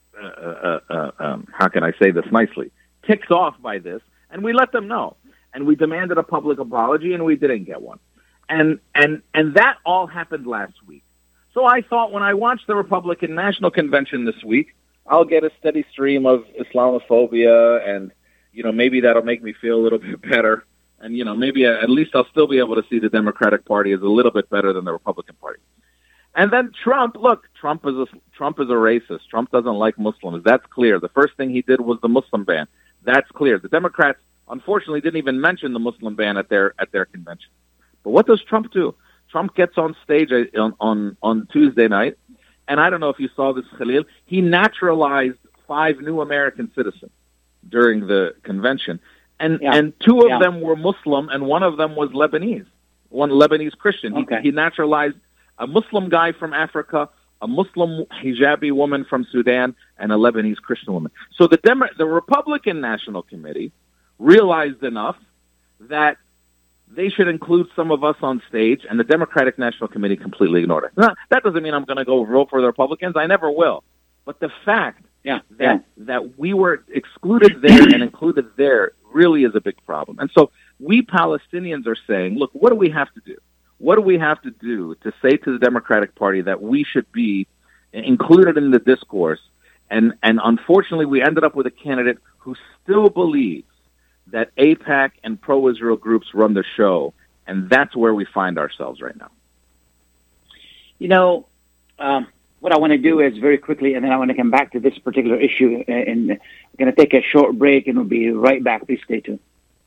how can I say this nicely, ticked off by this, and we let them know. And we demanded a public apology, and we didn't get one. And that all happened last week. So I thought when I watch the Republican National Convention this week, I'll get a steady stream of Islamophobia, and, you know, maybe that'll make me feel a little bit better. And, you know, maybe at least I'll still be able to see the Democratic Party as a little bit better than the Republican Party. And then Trump is a racist. Trump doesn't like Muslims. That's clear. The first thing he did was the Muslim ban. That's clear. The Democrats, unfortunately, didn't even mention the Muslim ban at their convention. But what does Trump do? Trump gets on stage on Tuesday night, and I don't know if you saw this, Khalil. He naturalized 5 new American citizens during the convention, and 2 of them were Muslim, and 1 of them was Lebanese, one Lebanese Christian. Okay. He naturalized a Muslim guy from Africa, a Muslim hijabi woman from Sudan, and a Lebanese Christian woman. So the Republican National Committee realized enough that they should include some of us on stage, and the Democratic National Committee completely ignored it. Now, that doesn't mean I'm going to go vote for the Republicans. I never will. But the fact that we were excluded there and included there really is a big problem. And so we Palestinians are saying, look, what do we have to do? What do we have to do to say to the Democratic Party that we should be included in the discourse? And unfortunately, we ended up with a candidate who still believes that AIPAC and pro-Israel groups run the show, and that's where we find ourselves right now. You know, what I want to do is very quickly, and then I want to come back to this particular issue, and we're going to take a short break, and we'll be right back. Please stay tuned.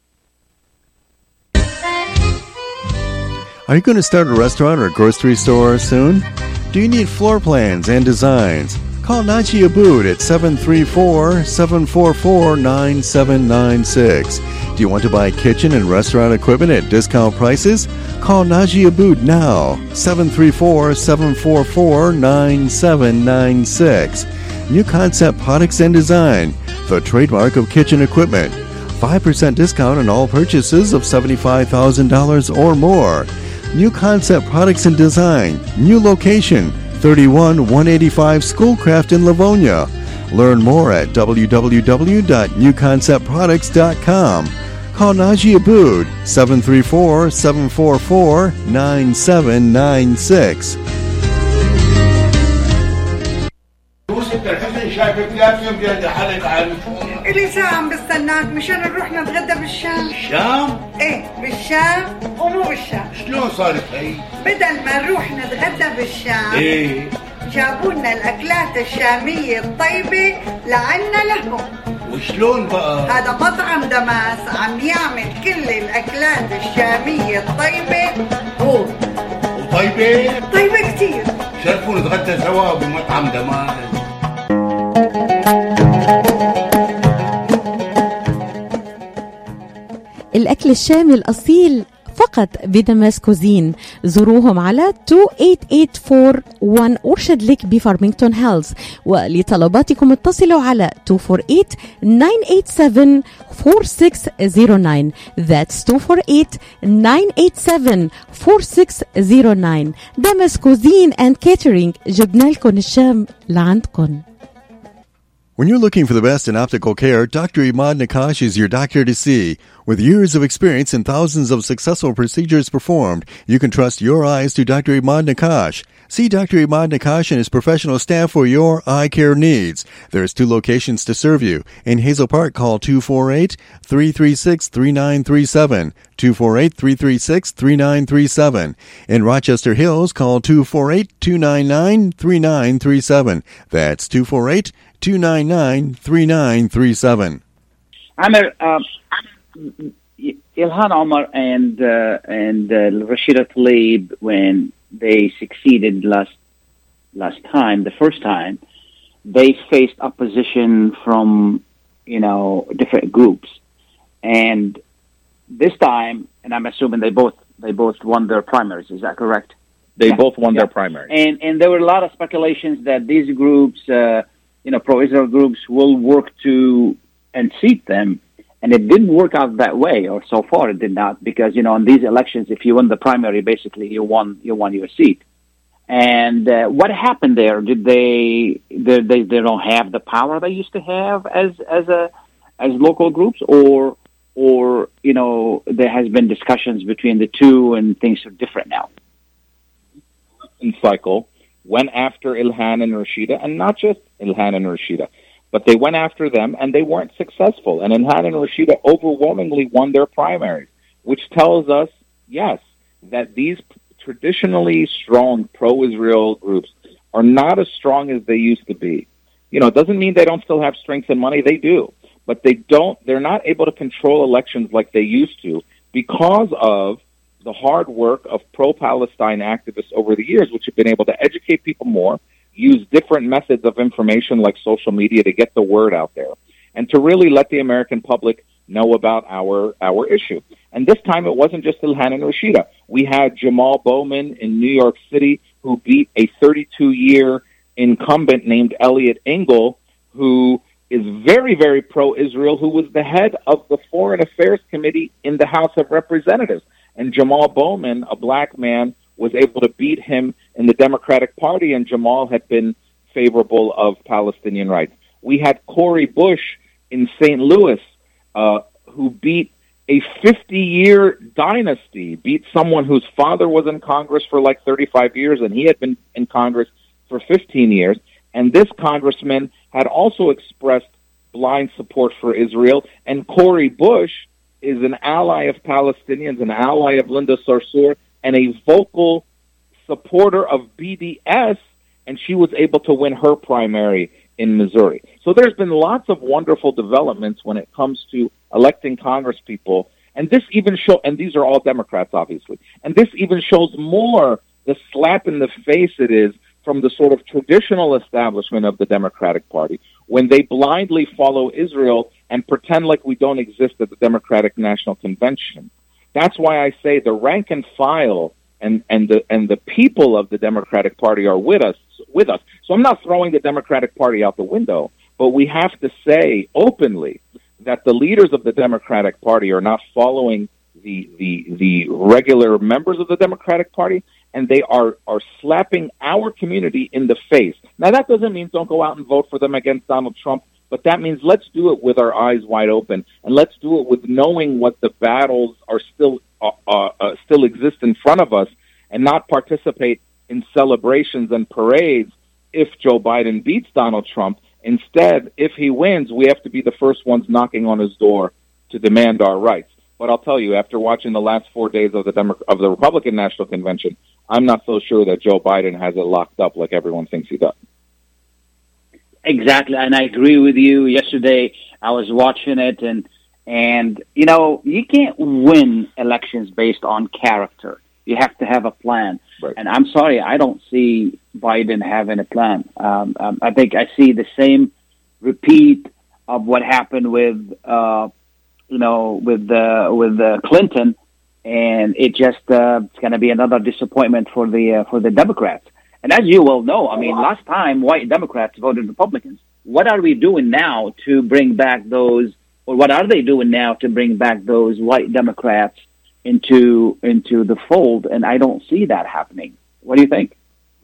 Are you going to start a restaurant or a grocery store soon? Do you need floor plans and designs? Call Naji Abood at 734-744-9796. Do you want to buy kitchen and restaurant equipment at discount prices? Call Naji Abood now, 734-744-9796. New Concept Products and Design, the trademark of kitchen equipment. 5% discount on all purchases of $75,000 or more. New Concept Products and Design, new location, 31185 Schoolcraft in Livonia. Learn more at www.newconceptproducts.com. Call Naji Abood, 734-744-9796. إلي ساعة عم بستناك مشان نروح نتغدى بالشام. الشام؟ ايه بالشام ومو بالشام. شلون صارت هي؟ بدل ما نروح نتغدى بالشام ايه جابوا لنا الأكلات الشامية الطيبة لعنا لهم. وشلون بقى؟ هذا مطعم دماس عم يعمل كل الأكلات الشامية الطيبة هو. وطيبة؟ طيبة كتير. شرفوا نتغدى سوا بمطعم دماس. الأكل الشامي الأصيل فقط بدمسكوزين. زوروهم على 28841 أورشد ليك بفارمينغتون هيلز، ولطلباتكم اتصلوا على 248-987-4609. That's 248-987-4609. دمسكوزين and catering، جبنا لكم الشام لعندكم. When you're looking for the best in optical care, Dr. Imad Nakash is your doctor to see. With years of experience and thousands of successful procedures performed, you can trust your eyes to Dr. Imad Nakash. See Dr. Imad Nakash and his professional staff for your eye care needs. There's 2 locations to serve you. In Hazel Park, call 248-336-3937. 248-336-3937. In Rochester Hills, call 248-299-3937. That's 248-299-3937. Amir, Ilhan Omar and Rashida Tlaib, when they succeeded last time, the first time, they faced opposition from different groups, and this time, and I'm assuming they both won their primaries. Is that correct? They both won their primaries, and there were a lot of speculations that these groups, pro-Israel groups, will work to unseat them. And it didn't work out that way, or so far it did not, because in these elections, if you win the primary, basically you won your seat. And what happened there? Did they don't have the power they used to have as local groups, or there has been discussions between the two and things are different now? Cycle went after Ilhan and Rashida, and not just Ilhan and Rashida, but they went after them, and they weren't successful. And Ilhan and Rashida overwhelmingly won their primaries, which tells us, yes, that these traditionally strong pro-Israel groups are not as strong as they used to be. It doesn't mean they don't still have strength and money. They do. But they're not able to control elections like they used to because of the hard work of pro-Palestine activists over the years, which have been able to educate people more, use different methods of information like social media to get the word out there, and to really let the American public know about our issue. And this time it wasn't just Ilhan and Rashida. We had Jamal Bowman in New York City, who beat a 32-year incumbent named Elliot Engel, who is very, very pro-Israel, who was the head of the Foreign Affairs Committee in the House of Representatives. And Jamal Bowman, a black man, was able to beat him in the Democratic Party, and Jamal had been favorable of Palestinian rights. We had Cori Bush in St. Louis, who beat a 50-year dynasty, beat someone whose father was in Congress for like 35 years, and he had been in Congress for 15 years. And this congressman had also expressed blind support for Israel, and Cori Bush is an ally of Palestinians, an ally of Linda Sarsour, and a vocal supporter of BDS, and she was able to win her primary in Missouri. So there's been lots of wonderful developments when it comes to electing congresspeople, and this even and these are all Democrats, obviously, and this even shows more the slap in the face it is from the sort of traditional establishment of the Democratic Party when they blindly follow Israel and pretend like we don't exist at the Democratic National Convention. That's why I say the rank and file and the people of the Democratic Party are with us. So I'm not throwing the Democratic Party out the window, but we have to say openly that the leaders of the Democratic Party are not following the regular members of the Democratic Party, and they are slapping our community in the face. Now, that doesn't mean don't go out and vote for them against Donald Trump, but that means let's do it with our eyes wide open, and let's do it with knowing what the battles are still exist in front of us, and not participate in celebrations and parades if Joe Biden beats Donald Trump. Instead, if he wins, we have to be the first ones knocking on his door to demand our rights. But I'll tell you, after watching the last 4 days of the Republican National Convention, I'm not so sure that Joe Biden has it locked up like everyone thinks he does. Exactly, and I agree with you. Yesterday, I was watching it, and you can't win elections based on character. You have to have a plan. Right. And I'm sorry, I don't see Biden having a plan. I think I see the same repeat of what happened with with Clinton, and it's going to be another disappointment for the Democrats. And as you well know, I mean, last time white Democrats voted Republicans. What are we doing now to bring back those, or what are they doing now to bring back those white Democrats into the fold? And I don't see that happening. What do you think?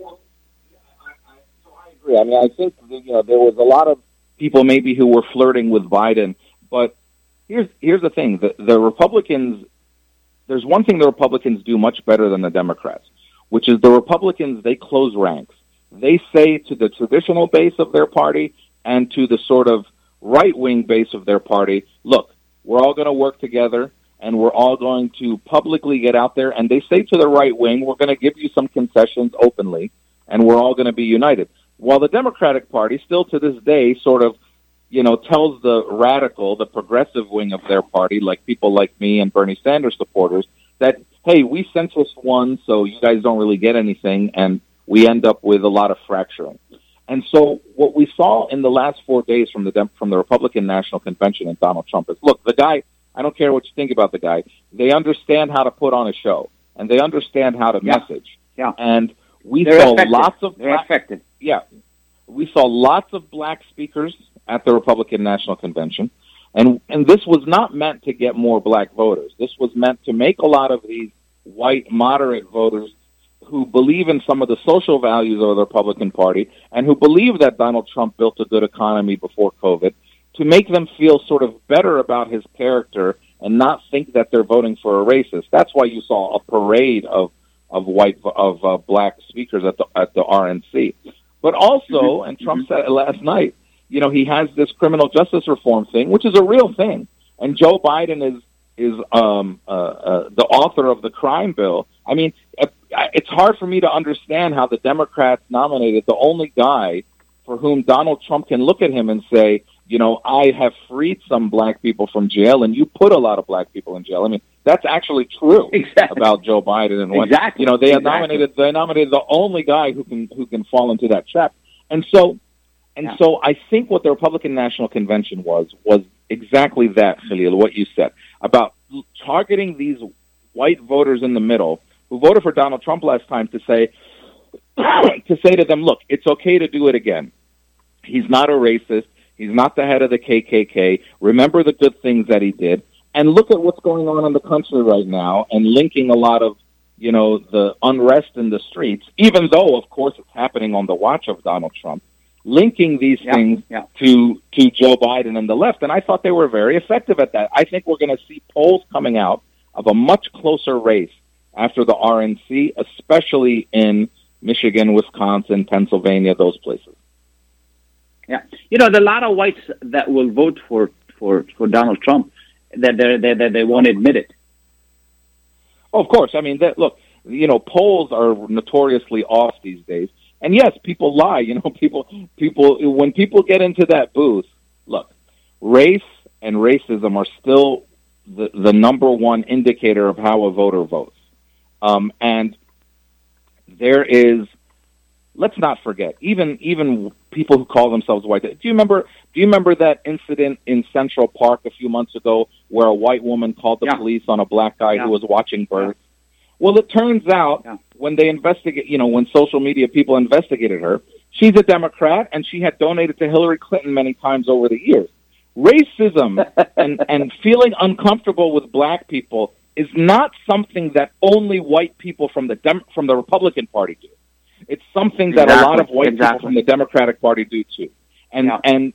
I agree. I mean, I think there was a lot of people maybe who were flirting with Biden, but here's the thing: the Republicans. There's one thing the Republicans do much better than the Democrats, which is the Republicans, they close ranks. They say to the traditional base of their party and to the sort of right-wing base of their party, look, we're all going to work together and we're all going to publicly get out there. And they say to the right wing, we're going to give you some concessions openly and we're all going to be united. While the Democratic Party still to this day sort of, tells the radical, the progressive wing of their party, like people like me and Bernie Sanders supporters, that, hey, we centrist won, so you guys don't really get anything, and we end up with a lot of fracturing. And so what we saw in the last 4 days from the Republican National Convention and Donald Trump is, look, the guy, I don't care what you think about the guy, they understand how to put on a show, and they understand how to message. Yeah. And They're saw effective. lots of They're effective. Yeah. We saw lots of black speakers at the Republican National Convention. And this was not meant to get more black voters. This was meant to make a lot of these white moderate voters who believe in some of the social values of the Republican Party and who believe that Donald Trump built a good economy before COVID, to make them feel sort of better about his character and not think that they're voting for a racist. That's why you saw a parade of black speakers at the RNC. But also, and Trump said it last night, he has this criminal justice reform thing, which is a real thing. And Joe Biden is the author of the crime bill. I mean, it's hard for me to understand how the Democrats nominated the only guy for whom Donald Trump can look at him and say, I have freed some black people from jail, and you put a lot of black people in jail. I mean, that's actually true about Joe Biden. And they nominated the only guy who can fall into that trap. And so I think what the Republican National Convention was exactly that, Khalil, what you said about targeting these white voters in the middle who voted for Donald Trump last time to say to them, look, it's okay to do it again. He's not a racist. He's not the head of the KKK. Remember the good things that he did. And look at what's going on in the country right now and linking a lot of, the unrest in the streets, even though, of course, it's happening on the watch of Donald Trump, linking these things to Joe Biden and the left. And I thought they were very effective at that. I think we're going to see polls coming out of a much closer race after the RNC, especially in Michigan, Wisconsin, Pennsylvania, those places. Yeah, there are a lot of whites that will vote for Donald Trump that they won't admit it. Oh, of course. I mean, look, polls are notoriously off these days, and yes, people lie. People when people get into that booth, look, race and racism are still the number one indicator of how a voter votes, and there is. Let's not forget, even people who call themselves white. Do you remember that incident in Central Park a few months ago where a white woman called the police on a black guy who was watching birds? Well, it turns out when they investigate, when social media people investigated her, she's a Democrat and she had donated to Hillary Clinton many times over the years. Racism and feeling uncomfortable with black people is not something that only white people from the Republican Party do. It's something that a lot of white people from the Democratic Party do too, and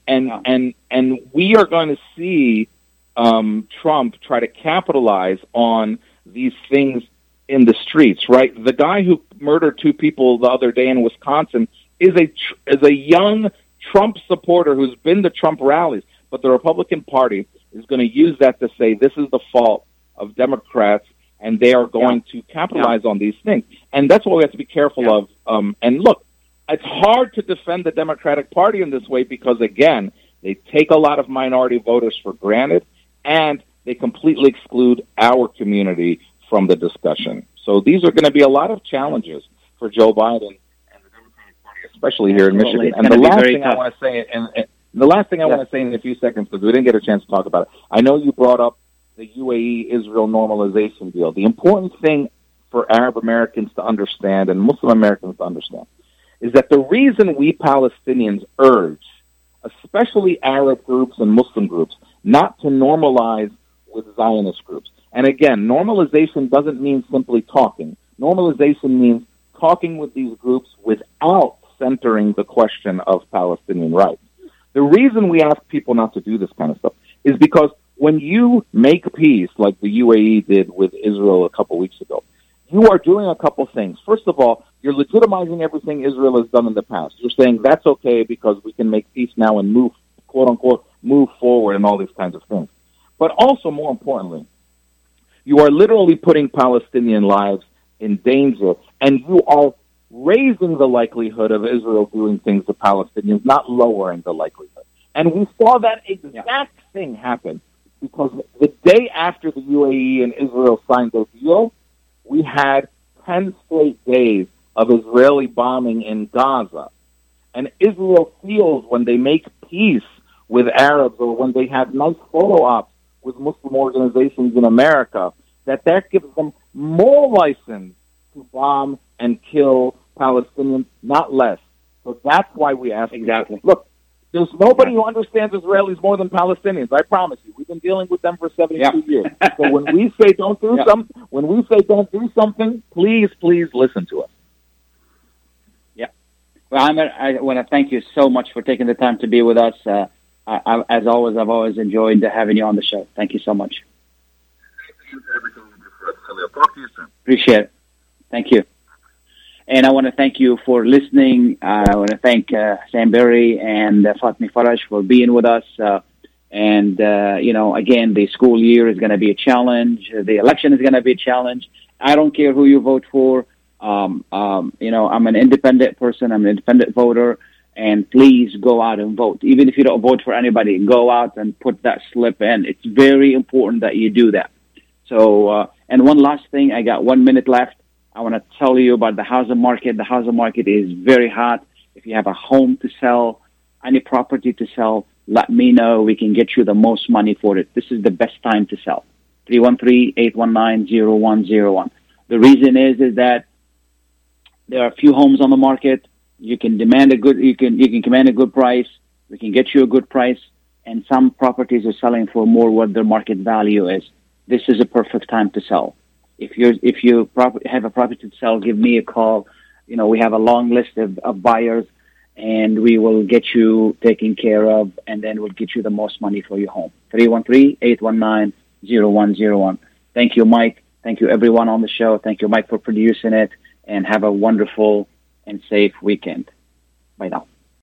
we are going to see Trump try to capitalize on these things in the streets. Right, the guy who murdered 2 people the other day in Wisconsin is a young Trump supporter who's been to Trump rallies, but the Republican Party is going to use that to say this is the fault of Democrats. And they are going to capitalize on these things. And that's what we have to be careful of. And look, it's hard to defend the Democratic Party in this way because, again, they take a lot of minority voters for granted, and they completely exclude our community from the discussion. So these are going to be a lot of challenges for Joe Biden and the Democratic Party, especially here in Michigan. And the last thing I want to say, and And the last thing I want to say in a few seconds, because we didn't get a chance to talk about it, I know you brought up the UAE-Israel normalization deal. The important thing for Arab Americans to understand and Muslim Americans to understand is that the reason we Palestinians urge, especially Arab groups and Muslim groups, not to normalize with Zionist groups. And again, normalization doesn't mean simply talking. Normalization means talking with these groups without centering the question of Palestinian rights. The reason we ask people not to do this kind of stuff is because when you make peace, like the UAE did with Israel a couple weeks ago, you are doing a couple things. First of all, you're legitimizing everything Israel has done in the past. You're saying that's okay because we can make peace now and move, quote unquote, move forward and all these kinds of things. But also, more importantly, you are literally putting Palestinian lives in danger, and you are raising the likelihood of Israel doing things to Palestinians, not lowering the likelihood. And we saw that exact thing happen because the day after the UAE and Israel signed their deal, we had 10 straight days of Israeli bombing in Gaza. And Israel feels when they make peace with Arabs or when they have nice photo ops with Muslim organizations in America, that gives them more license to bomb and kill Palestinians, not less. So that's why we ask. Exactly. Look, there's nobody who understands Israelis more than Palestinians. I promise you. We've been dealing with them for 72 years. So when we say don't do something, please listen to us. Yeah. Well, I want to thank you so much for taking the time to be with us. As always, I've always enjoyed having you on the show. Thank you so much. Talk to you soon. Appreciate it. Thank you. And I want to thank you for listening. I want to thank Sam Berry and Fatmi Faraj for being with us. Again, the school year is going to be a challenge. The election is going to be a challenge. I don't care who you vote for. I'm an independent person. I'm an independent voter. And please go out and vote. Even if you don't vote for anybody, go out and put that slip in. It's very important that you do that. So, and one last thing, I got 1 minute left. I want to tell you about the housing market. The housing market is very hot. If you have a home to sell, any property to sell, let me know. We can get you the most money for it. This is the best time to sell. 313-819-0101. The reason is that there are a few homes on the market. You can command a good price. We can get you a good price. And some properties are selling for more what their market value is. This is a perfect time to sell. If you have a property to sell, give me a call. We have a long list of buyers, and we will get you taken care of, and then we'll get you the most money for your home. 313-819-0101. Thank you, Mike. Thank you, everyone on the show. Thank you, Mike, for producing it, and have a wonderful and safe weekend. Bye now.